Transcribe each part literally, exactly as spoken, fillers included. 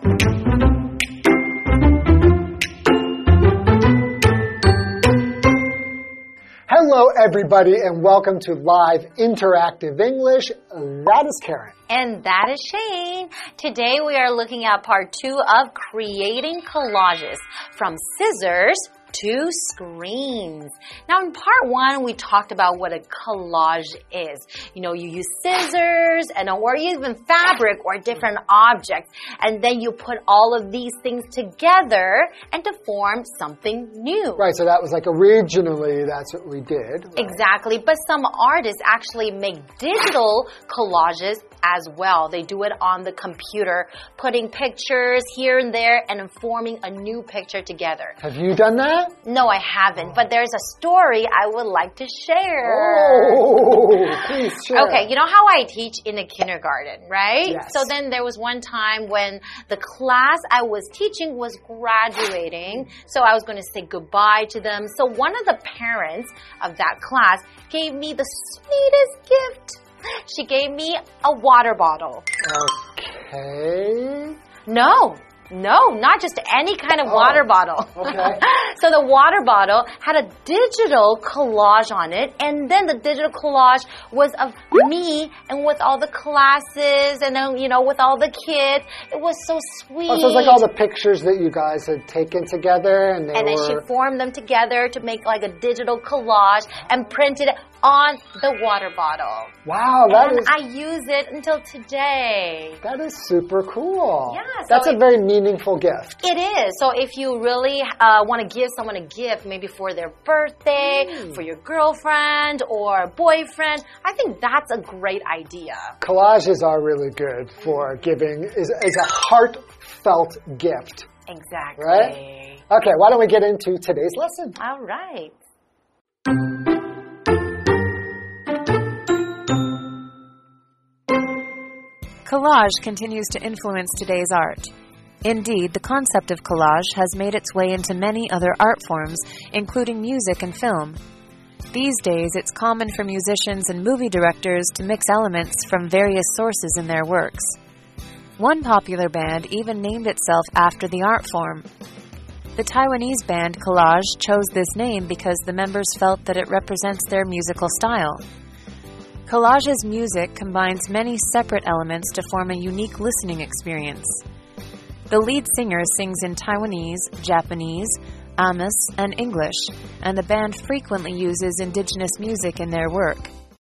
Hello, everybody, and welcome to Live Interactive English. That is Karen. And that is Shane. Today we are looking at part two of creating collages from scissors to screens. Now in part one, we talked about what a collage is. You know, you use scissors and or even fabric or different objects, and then you put all of these things together and to form something new. Right, so that was like originally that's what we did. Right? Exactly, but some artists actually make digital collages as well. They do it on the computer, putting pictures here and there and forming a new picture together. Have you done that? No, I haven't, but there's a story I would like to share. Oh, please share. Okay, you know how I teach in a kindergarten, right? Yes. So then there was one time when the class I was teaching was graduating, so I was going to say goodbye to them. So one of the parents of that class gave me the sweetest gift. She gave me a water bottle. Okay. No. No, not just any kind of oh, water bottle. Okay. So the water bottle had a digital collage on it, and then the digital collage was of me and with all the classes and then, you know, with all the kids. It was so sweet. Oh, so it's like all the pictures that you guys had taken together and they And then were... she formed them together to make like a digital collage and printed it on the water bottle. Wow, that and is... I use it until today. That is super cool. Yeah. So That's a it, very meaningful gift. It is. So if you really uh, want to give someone a gift, maybe for their birthday, mm. for your girlfriend or boyfriend, I think that's a great idea. Collages are really good for giving, is, is a heartfelt gift. Exactly. Right? Okay, why don't we get into today's lesson? All right. Collage continues to influence today's art. Indeed, the concept of collage has made its way into many other art forms, including music and film. These days, it's common for musicians and movie directors to mix elements from various sources in their works. One popular band even named itself after the art form. The Taiwanese band Collage chose this name because the members felt that it represents their musical style. Collage's music combines many separate elements to form a unique listening experience. The lead singer sings in Taiwanese, Japanese, Amis, and English, and the band frequently uses indigenous music in their work.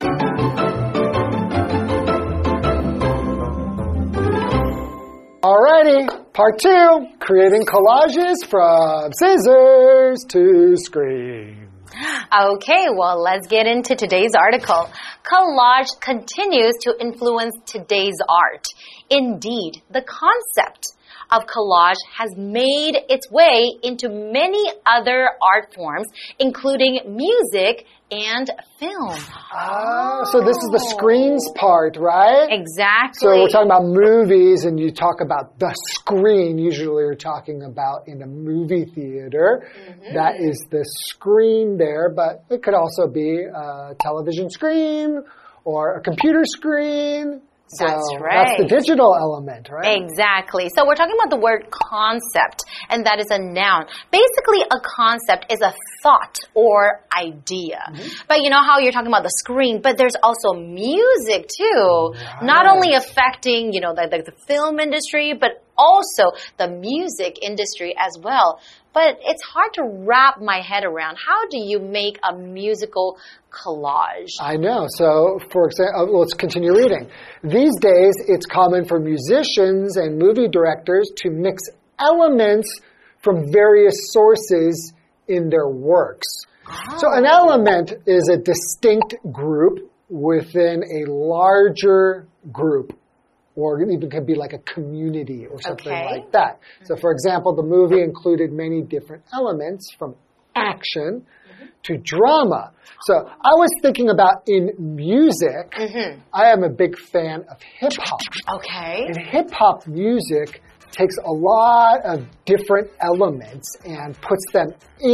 Alrighty, part two, creating collages from scissors to screen. Okay, well, let's get into today's article. Collage continues to influence today's art. Indeed, the concept of collage has made its way into many other art forms, including music and film. Oh, so this is the screens part, right? Exactly. So we're talking about movies, and you talk about the screen. Usually you're talking about in a movie theater. Mm-hmm. That is the screen there, but it could also be a television screen or a computer screen. So that's right. That's the digital element, right? Exactly. So we're talking about the word concept, and that is a noun. Basically, a concept is a thought or idea. Mm-hmm. But you know how you're talking about the screen, but there's also music too. Right. Not only affecting, you know, the, the, the film industry, but also the music industry as well. But it's hard to wrap my head around. How do you make a musical collage? I know. So, for example, let's continue reading. These days, it's common for musicians and movie directors to mix elements from various sources in their works. Oh. So an element is a distinct group within a larger group. Or it even could be like a community or something okay. like that. So, for example, the movie included many different elements from action mm-hmm. to drama. So, I was thinking about in music, mm-hmm. I am a big fan of hip-hop. Okay. And hip-hop music takes a lot of different elements and puts them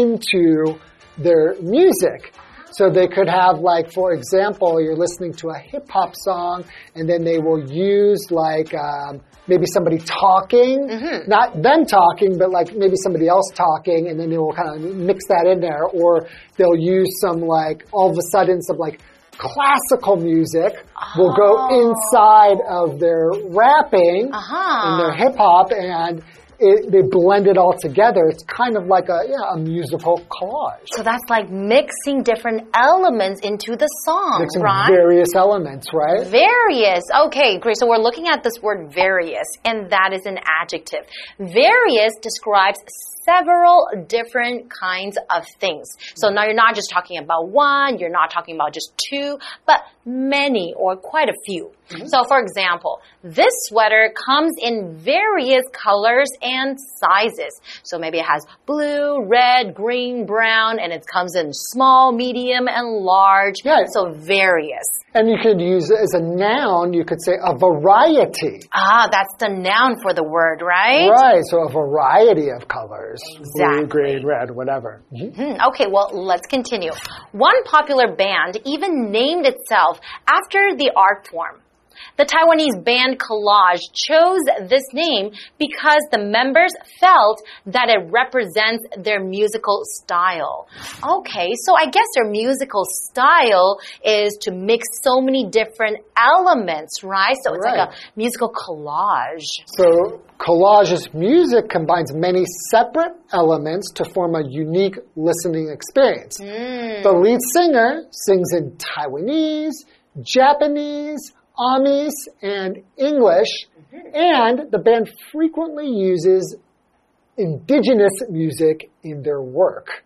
into their music. So they could have, like, for example, you're listening to a hip-hop song, and then they will use, like, um, maybe somebody talking, mm-hmm. not them talking, but like maybe somebody else talking, and then they will kind of mix that in there. Or they'll use some like, all of a sudden, some like classical music oh. will go inside of their rapping uh-huh. and their hip hop, and It, they blend it all together. It's kind of like a, yeah, a musical collage. So that's like mixing different elements into the song, mixing right? various elements, right? Various. Okay, great. So we're looking at this word various, and that is an adjective. Various describes several different kinds of things. So now you're not just talking about one, you're not talking about just two, but many or quite a few. Mm-hmm. So for example, this sweater comes in various colors and sizes. So maybe it has blue, red, green, brown, and it comes in small, medium, and large. Yeah. So various. And you could use it as a noun, you could say a variety. Ah, that's the noun for the word, right? Right, so a variety of colors. Exactly. Blue, green, red, whatever. Mm-hmm. Mm, okay, well, let's continue. One popular band even named itself after the art form. The Taiwanese band Collage chose this name because the members felt that it represents their musical style. Okay, so I guess their musical style is to mix so many different elements, right? So it's right. like a musical collage. So Collage's music combines many separate elements to form a unique listening experience. Mm. The lead singer sings in Taiwanese, Japanese, Amis, and English, and the band frequently uses indigenous music in their work.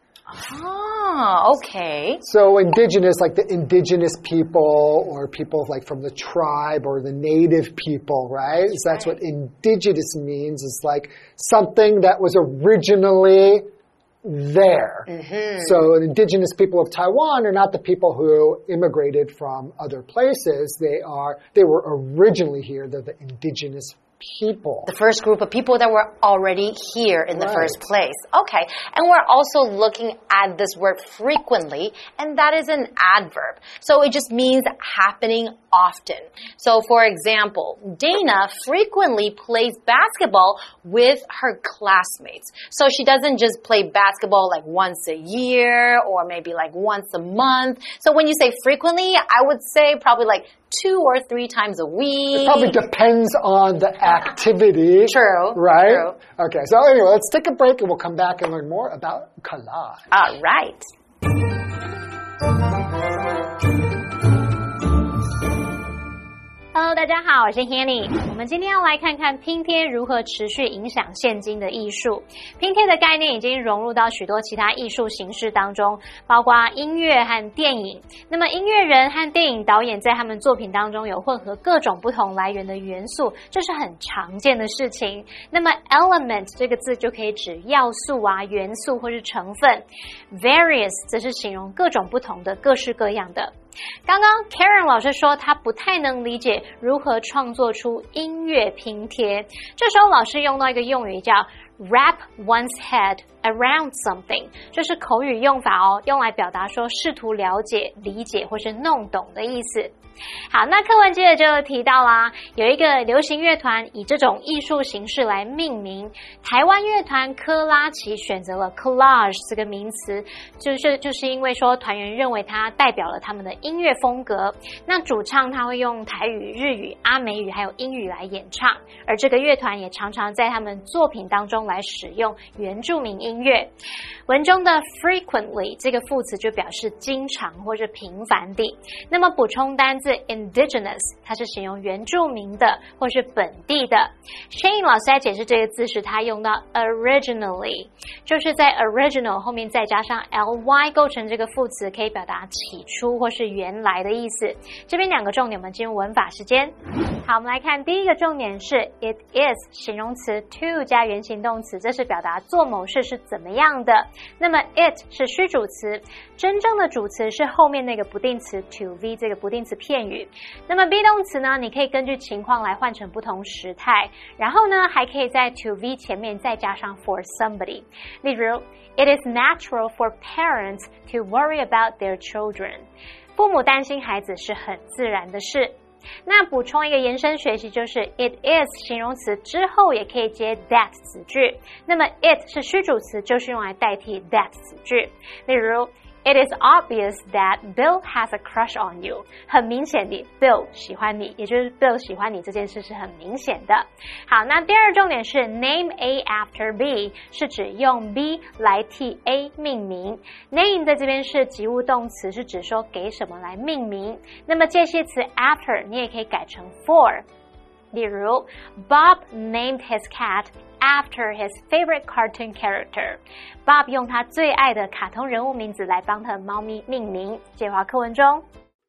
Ah, okay. So indigenous, like the indigenous people or people like from the tribe or the native people, right? So that's what indigenous means. It's like something that was originally there. Mm-hmm. So the indigenous people of Taiwan are not the people who immigrated from other places. They are, they were originally here. They're the indigenous people. The first group of people that were already here in the right. first place. Okay. And we're also looking at this word frequently, and that is an adverb. So it just means happening often. So for example, Dana frequently plays basketball with her classmates. So she doesn't just play basketball like once a year or maybe like once a month. So when you say frequently, I would say probably like two or three times a week. It probably depends on the activity. True. Right? True. Okay, so anyway, let's take a break and we'll come back and learn more about collage. All right. Hello， 大家好，我是 Hanny。我们今天要来看看拼貼如何持續影響現今的藝術。拼貼的概念已經融入到許多其他藝術形式當中，包括音樂和電影。那麼音樂人和電影導演在他們作品當中有混合各種不同來源的元素，這是很常見的事情。那麼 element 這個字就可以指要素啊、元素或是成分。Various 則是形容各種不同的、各式各樣的。剛剛 Karen 老師說她不太能理解如何創作出音樂拼貼，這時候老師用到一個用語叫 wrap one's head around something， 這是口語用法哦，用來表達說試圖了解、理解或是弄懂的意思。好，那課文接着就提到啦，有一個流行樂團以這種藝術形式來命名，台灣樂團珂拉琪選擇了 collage 這個名詞，就是就是因為說團員認為它代表了他們的音樂風格。那主唱他會用台語、日語、阿美語還有英語來演唱，而這個樂團也常常在他們作品當中來使用原住民音樂。文中的 frequently 這個副詞就表示經常或者頻繁地。那麼補充單字indigenous 它是形容原住民的或是本地的。Shane 老師在解釋這個字時，他用到 originally， 就是在 original 後面再加上 ly 構成這個副詞，可以表達起初或是原來的意思。這邊兩個重點，我們進入文法時間。好，我們來看第一個重點是 it is 形容詞 to 加原形動詞，這是表達做某事是怎麼樣的。那麼 it 是虛主詞，真正的主詞是後面那個不定詞 to v 這個不定詞片語。那麼 be 動詞呢，你可以根據情況來換成不同時態，然後呢還可以在 to v 前面再加上 for somebody。例如 it is natural for parents to worry about their children， 父母擔心孩子是很自然的事。 那補充一個延伸學習，就是 it is 形容詞之後也可以接 that 子句，那麼 it 是虛主詞，就是用來代替 that 子句。例如，It is obvious that Bill has a crush on you. 很明顯的 Bill 喜歡你，也就是 Bill 喜歡你這件事是很明顯的。好，那第二重點是 name A after B 是指用 B 來替 A 命名。name 在這邊是及物動詞，是指說給什麼來命名。那麼介系詞 after 你也可以改成 for。例如 Bob named his cat after his favorite cartoon character. Bob 用他最愛的卡通人物名字來幫他的貓咪命名。介華課文中。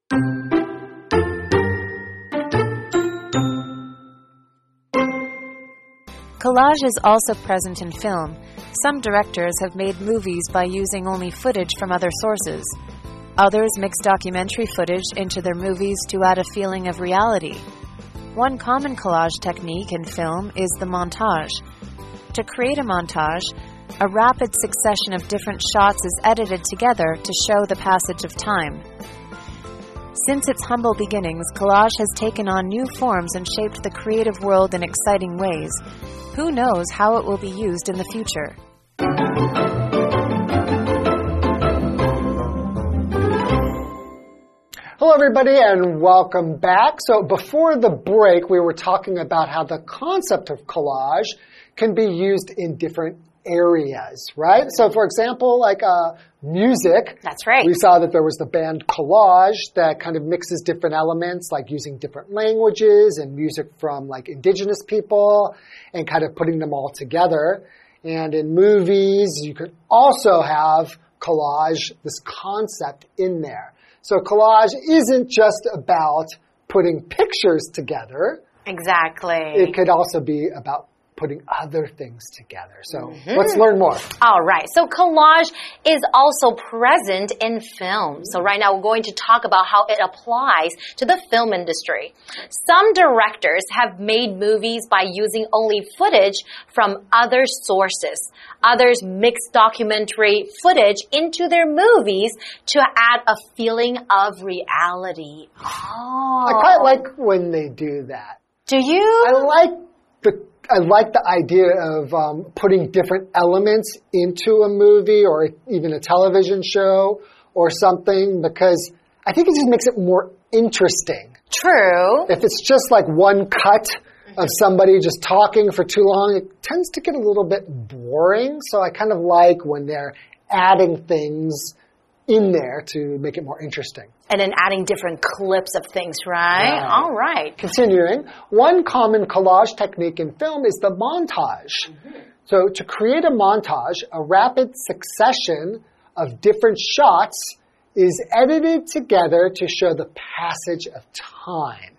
Collage is also present in film. Some directors have made movies by using only footage from other sources. Others mix documentary footage into their movies to add a feeling of reality. One common collage technique in film is the montage. To create a montage, a rapid succession of different shots is edited together to show the passage of time. Since its humble beginnings, collage has taken on new forms and shaped the creative world in exciting ways. Who knows how it will be used in the future? Hello, everybody, and welcome back. So before the break, we were talking about how the concept of collage can be used in different areas, right? So, for example, like uh, music. That's right. We saw that there was the band Collage that kind of mixes different elements, like using different languages and music from like indigenous people and kind of putting them all together. And in movies, you could also have collage, this concept in there. So collage isn't just about putting pictures together. Exactly. It could also be about putting other things together. So mm-hmm. let's learn more. All right. So collage is also present in film. So right now we're going to talk about how it applies to the film industry. Some directors have made movies by using only footage from other sources. Others mix documentary footage into their movies to add a feeling of reality. Oh. I quite like when they do that. Do you? I like the I like the idea of um, putting different elements into a movie or even a television show or something, because I think it just makes it more interesting. True. If it's just like one cut of somebody just talking for too long, it tends to get a little bit boring. So I kind of like when they're adding things in there to make it more interesting. And then adding different clips of things, right? Yeah. All right. Continuing, one common collage technique in film is the montage. Mm-hmm. So to create a montage, a rapid succession of different shots is edited together to show the passage of time.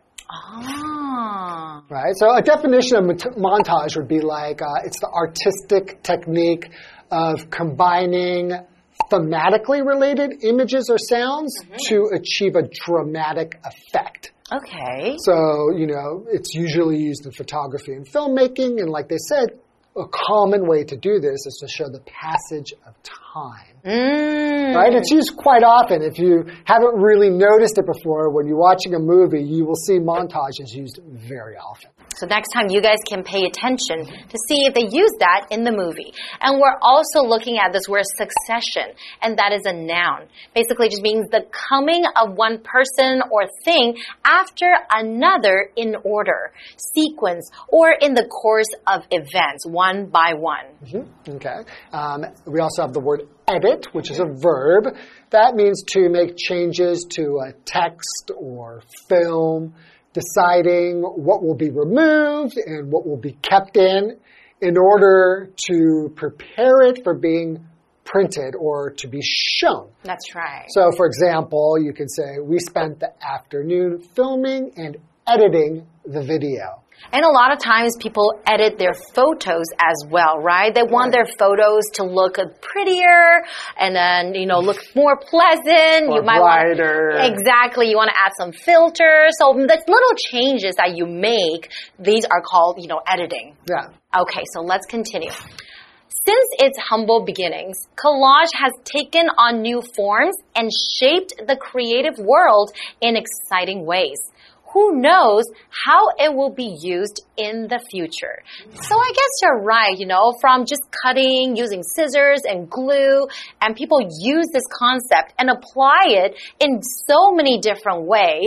Ah. Right? So a definition of montage would be like, uh, it's the artistic technique of combining thematically related images or sounds mm-hmm. to achieve a dramatic effect. Okay. So, you know, it's usually used in photography and filmmaking, and like they said, a common way to do this is to show the passage of time. Mm. Right? It's used quite often. If you haven't really noticed it before, when you're watching a movie, you will see montages used very often. So next time you guys can pay attention to see if they use that in the movie. And we're also looking at this word succession, and that is a noun. Basically it just means the coming of one person or thing after another in order, sequence, or in the course of events, one by one. Mm-hmm. Okay. Um, we also have the word edit, which is a verb. That means to make changes to a text or film, deciding what will be removed and what will be kept in in order to prepare it for being printed or to be shown. That's right. So, for example, you could say, we spent the afternoon filming and editing the video. And a lot of times people edit their photos as well, right? They want their photos to look prettier and then, you know, look more pleasant. Or you might brighter. Want, exactly. You want to add some filters. So the little changes that you make, these are called, you know, editing. Yeah. Okay, so let's continue. Since its humble beginnings, collage has taken on new forms and shaped the creative world in exciting ways. who knows how it will be used in the future. So I guess you're right, you know, from just cutting, using scissors and glue, and people use this concept and apply it in so many different ways.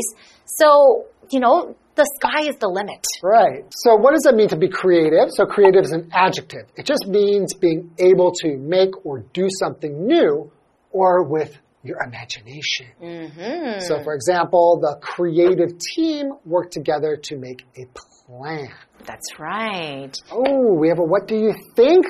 So, you know, the sky is the limit. Right. So what does it mean to be creative? So creative is an adjective. It just means being able to make or do something new or with your imagination. Mm-hmm. So for example, the creative team worked together to make a plan. That's right. Oh, we have a what do you think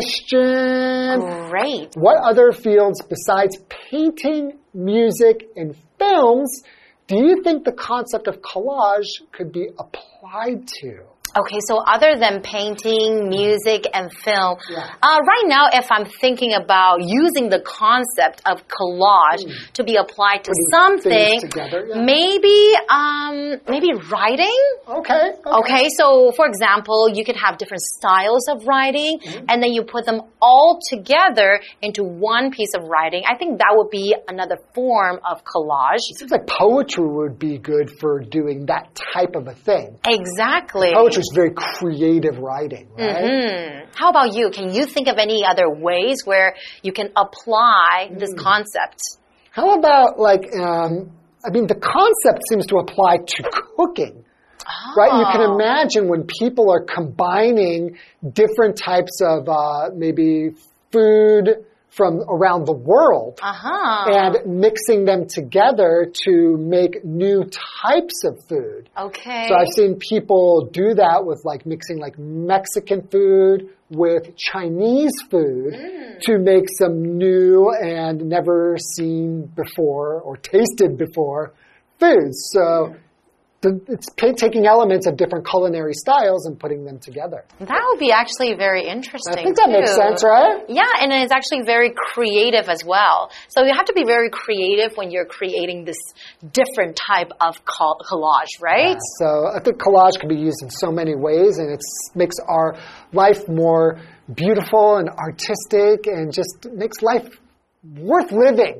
question. Great. What other fields besides painting, music, and films do you think the concept of collage could be applied to? Okay, so other than painting, music, and film, yeah. uh, right now, if I'm thinking about using the concept of collage mm. to be applied to Putting something, together, yeah. maybe, um, maybe writing. Okay, okay. Okay, so for example, you could have different styles of writing, mm-hmm. and then you put them all together into one piece of writing. I think that would be another form of collage. It seems like poetry would be good for doing that type of a thing. Exactly. Poetry is very creative writing, right? Mm-hmm. How about you? Can you think of any other ways where you can apply this mm. concept? How about like, um, I mean, the concept seems to apply to cooking. Oh. Right? You can imagine when people are combining different types of uh, maybe food from around the world uh-huh. and mixing them together to make new types of food. Okay. So I've seen people do that with like mixing like Mexican food with Chinese food mm. to make some new and never seen before or tasted before foods. So mm. it's taking elements of different culinary styles and putting them together. That would be actually very interesting. I think that too. makes sense, right? Yeah, and it's actually very creative as well. So you have to be very creative when you're creating this different type of collage, right? Yeah, so I think collage can be used in so many ways, and it makes our life more beautiful and artistic and just makes life worth living.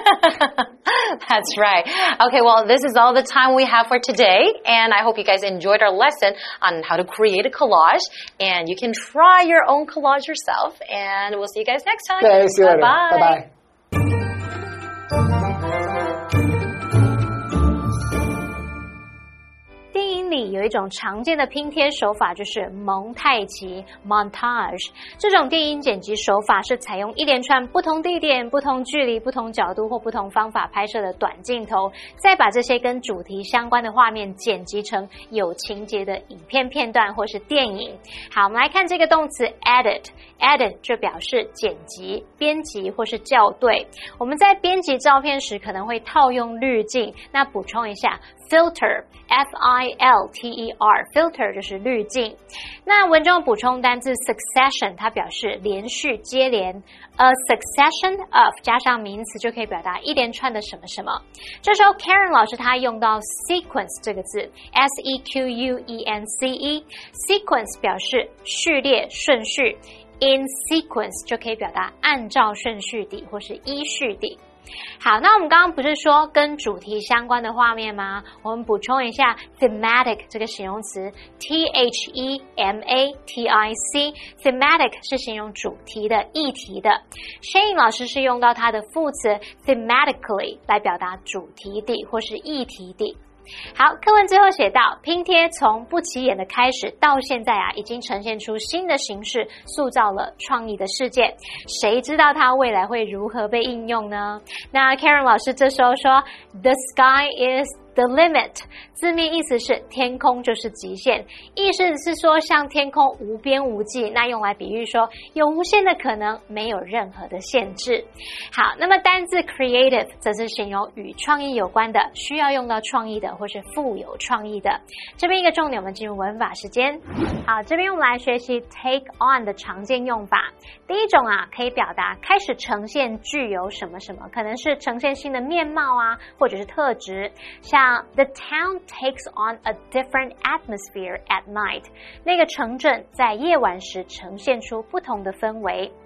That's right. Okay, well, this is all the time we have for today, and I hope you guys enjoyed our lesson on how to create a collage, and you can try your own collage yourself, and we'll see you guys next time. Okay, see you later. Bye-bye. Bye-bye. 里有一种常见的拼贴手法，就是蒙太奇 montage。这种电影剪辑手法是采用一连串不同地点、不同距离、不同角度或不同方法拍摄的短镜头，再把这些跟主題相關的畫面剪輯成有情節的影片片段或是電影。好，我們來看這個動詞 edit。edit 就表示剪輯、編輯或是校對。我們在編輯照片時可能會套用濾鏡，那補充一下 filter F I L T E R filter 就是濾鏡。那文中補充單字 succession 它表示連續接連 a succession of 加上名詞就可以表達一連串的什麼什麼。這時候 Karen 老師她用到 sequence 這個字 S E Q U E N C E sequence 表示序列順序， in sequence 就可以表達按照順序地或是依序地。好，那我們剛剛不是說跟主題相關的畫面嗎？我們補充一下 thematic 這個形容詞 T H E M A T I C thematic 是形容主題的議題的。Shane 老師是用到它的副詞 thematically 來表達主題地或是議題地。好，課文最後寫到，拼貼從不起眼的開始到現在啊，已經呈現出新的形式，塑造了創意的世界。誰知道它未來會如何被應用呢？那 Karen 老師這時候說 ，The sky is the limit， 字面意思是天空就是極限，意思是說像天空無邊無際，那用來比喻說有無限的可能，沒有任何的限制。好，那麼單字 creative 則是形容與創意有關的，需要用到創意的或是富有創意的。這邊一個重點，我們進入文法時間。好，這邊我們來學習 take on 的常見用法。第一種啊，可以表達開始呈現具有什麼什麼，可能是呈現新的面貌啊，或者是特質，像The town takes on a different atmosphere at night. 那個城鎮在夜晚時呈現出不同的氛圍。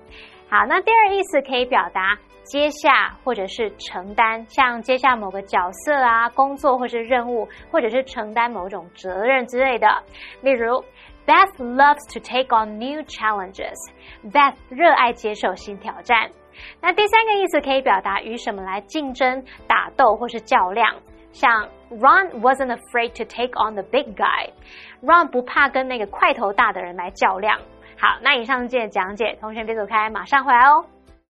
好，那第二意思可以表達接下或者是承擔，像接下某個角色啊、工作或是任務，或者是承擔某種責任之類的。例如 Beth loves to take on new challenges. Beth 熱愛接受新挑戰。那第三個意思可以表達與什麼來競爭、打鬥或是較量，像 Ron wasn't afraid to take on the big guy. Ron 不怕跟那個塊頭大的人來較量。好，那以上這節講解，同學別走開，馬上回來哦。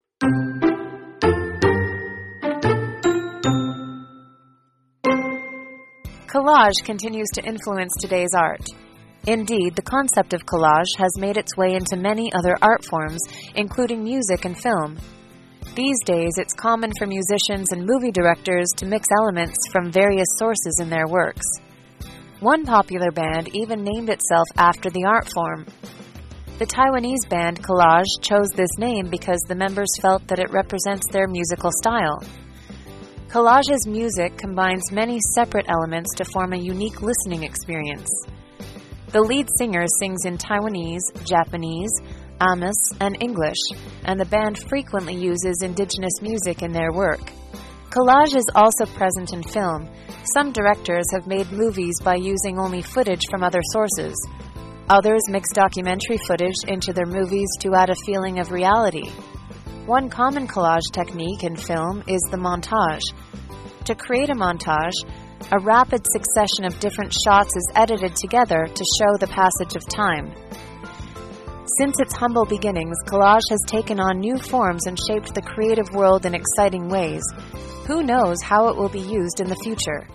Collage continues to influence today's art. Indeed, the concept of collage has made its way into many other art forms, including music and film. These days, it's common for musicians and movie directors to mix elements from various sources in their works. One popular band even named itself after the art form. The Taiwanese band Collage chose this name because the members felt that it represents their musical style. Collage's music combines many separate elements to form a unique listening experience. The lead singer sings in Taiwanese, Japanese, Amis, and English, and the band frequently uses indigenous music in their work. Collage is also present in film. Some directors have made movies by using only footage from other sources. Others mix documentary footage into their movies to add a feeling of reality. One common collage technique in film is the montage. To create a montage, a rapid succession of different shots is edited together to show the passage of time. Since its humble beginnings, collage has taken on new forms and shaped the creative world in exciting ways. Who knows how it will be used in the future?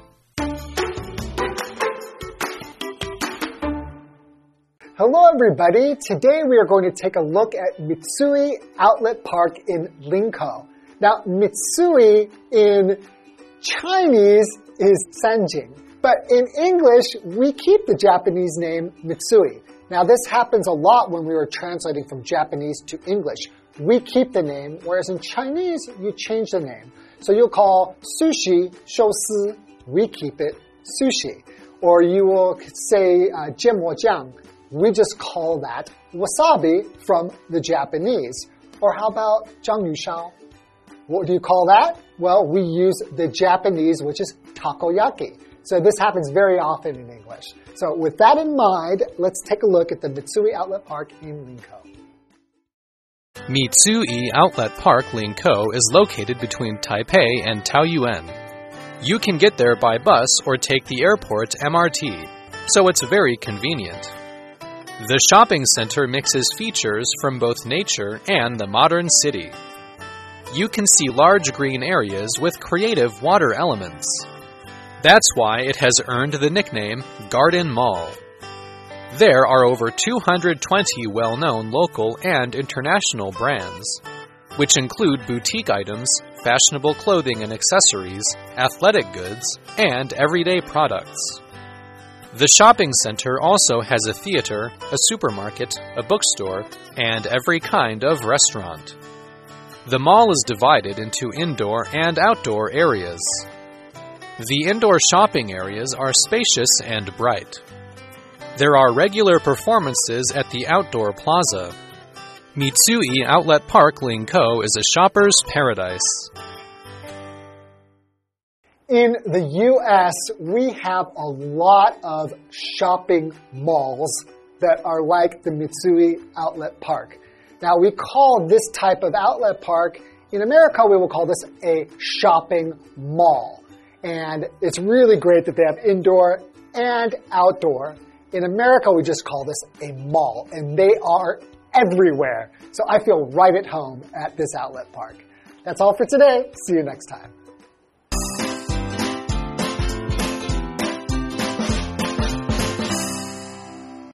Hello everybody, today we are going to take a look at Mitsui Outlet Park in Linkou. Now, Mitsui in Chinese is Sanjing, but in English we keep the Japanese name Mitsui. Now this happens a lot when we were translating from Japanese to English. We keep the name, whereas in Chinese you change the name. So you'll call sushi shousi, we keep it sushi. Or you will say uh, jianmojiang, we just call that wasabi from the Japanese. Or how about zhangyushao? What do you call that? Well, we use the Japanese, which is takoyaki. So this happens very often in English. So with that in mind, let's take a look at the Mitsui Outlet Park in Linkou. Mitsui Outlet Park Linkou is located between Taipei and Taoyuan. You can get there by bus or take the airport M R T, so it's very convenient. The shopping center mixes features from both nature and the modern city. You can see large green areas with creative water elements. That's why it has earned the nickname Garden Mall. There are over two hundred twenty well-known local and international brands, which include boutique items, fashionable clothing and accessories, athletic goods, and everyday products. The shopping center also has a theater, a supermarket, a bookstore, and every kind of restaurant. The mall is divided into indoor and outdoor areas. The indoor shopping areas are spacious and bright. There are regular performances at the outdoor plaza. Mitsui Outlet Park Linkou is a shopper's paradise. In the U S, we have a lot of shopping malls that are like the Mitsui Outlet Park. Now, we call this type of outlet park, in America, we will call this a shopping mall. And it's really great that they have indoor and outdoor. In America, we just call this a mall, and they are everywhere. So I feel right at home at this outlet park. That's all for today. See you next time.